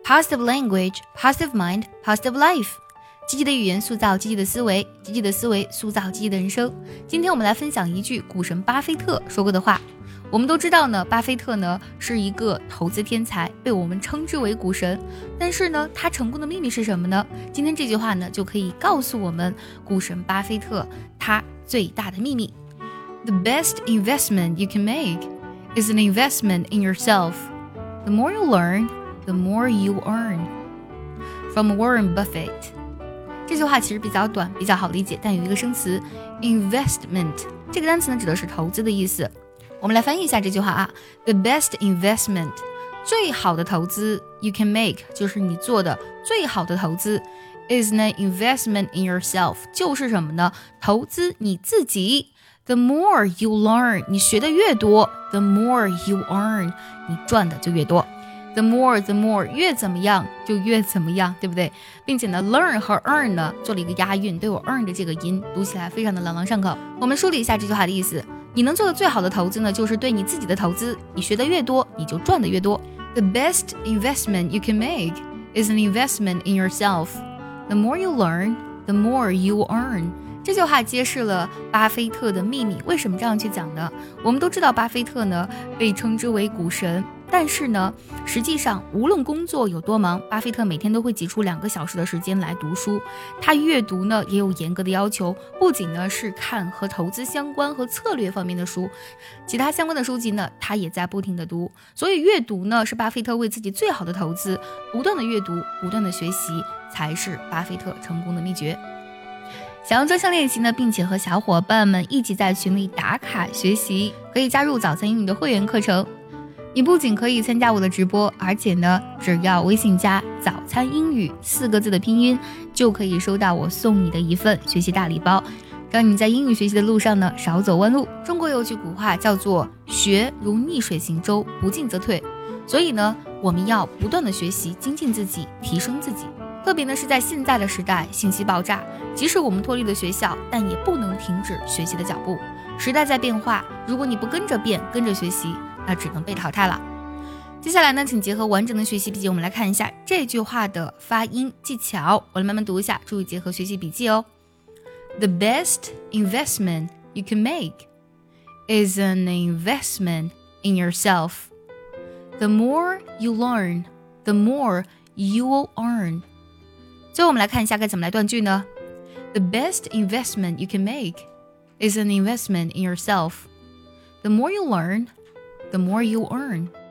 Positive language, positive mind, positive life。积极的语言塑造积极的思维，积极的思维塑造积极的人生。今天我们来分享一句股神巴菲特说过的话。我们都知道呢，巴菲特呢是一个投资天才，被我们称之为股神。但是呢，他成功的秘密是什么呢？今天这句话呢就可以告诉我们股神巴菲特他最大的秘密。The best investment you can make is an investment in yourself. The more you learn, the more you earn. From Warren Buffett。这句话其实比较短，比较好理解，但有一个生词 investment， 这个单词呢指的是投资的意思。我们来翻译一下这句话啊 ，The best investment， 最好的投资 you can make， 就是你做的最好的投资 is an investment in yourself， 就是什么呢？投资你自己。The more you learn， 你学的越多 ，the more you earn， 你赚的就越多。The more 越怎么样就越怎么样，对不对？并且呢 learn 和 earn 呢做了一个押韵，都有 earn 的这个音，读起来非常的朗朗上口。我们梳理一下这句话的意思，你能做的最好的投资呢，就是对你自己的投资，你学的越多，你就赚的越多。The best investment you can make is an investment in yourself. The more you learn, the more you earn. 这句话揭示了巴菲特的秘密。为什么这样去讲呢？我们都知道巴菲特呢被称之为股神，但是呢实际上无论工作有多忙，巴菲特每天都会挤出2个小时的时间来读书。他阅读呢也有严格的要求，不仅呢是看和投资相关和策略方面的书，其他相关的书籍呢他也在不停的读。所以阅读呢是巴菲特为自己最好的投资，不断的阅读，不断的学习，才是巴菲特成功的秘诀。想要专项练习呢，并且和小伙伴们一起在群里打卡学习，可以加入早餐英语的会员课程。你不仅可以参加我的直播，而且呢，只要微信加早餐英语4个字的拼音，就可以收到我送你的一份学习大礼包，让你在英语学习的路上呢少走弯路。中国有句古话叫做学如逆水行舟，不进则退。所以呢，我们要不断的学习，精进自己，提升自己。特别呢是在现在的时代，信息爆炸，即使我们脱离了学校，但也不能停止学习的脚步。时代在变化，如果你不跟着变，跟着学习，那只能被淘汰了。接下来呢，请结合完整的学习笔记，我们来看一下这句话的发音技巧。我来慢慢读一下，注意结合学习笔记哦。The best investment you can make is an investment in yourself. The more you learn, the more you will earn. 最后我们来看一下该怎么来断句呢？ The best investment you can make is an investment in yourself. The more you learn, the more you earn.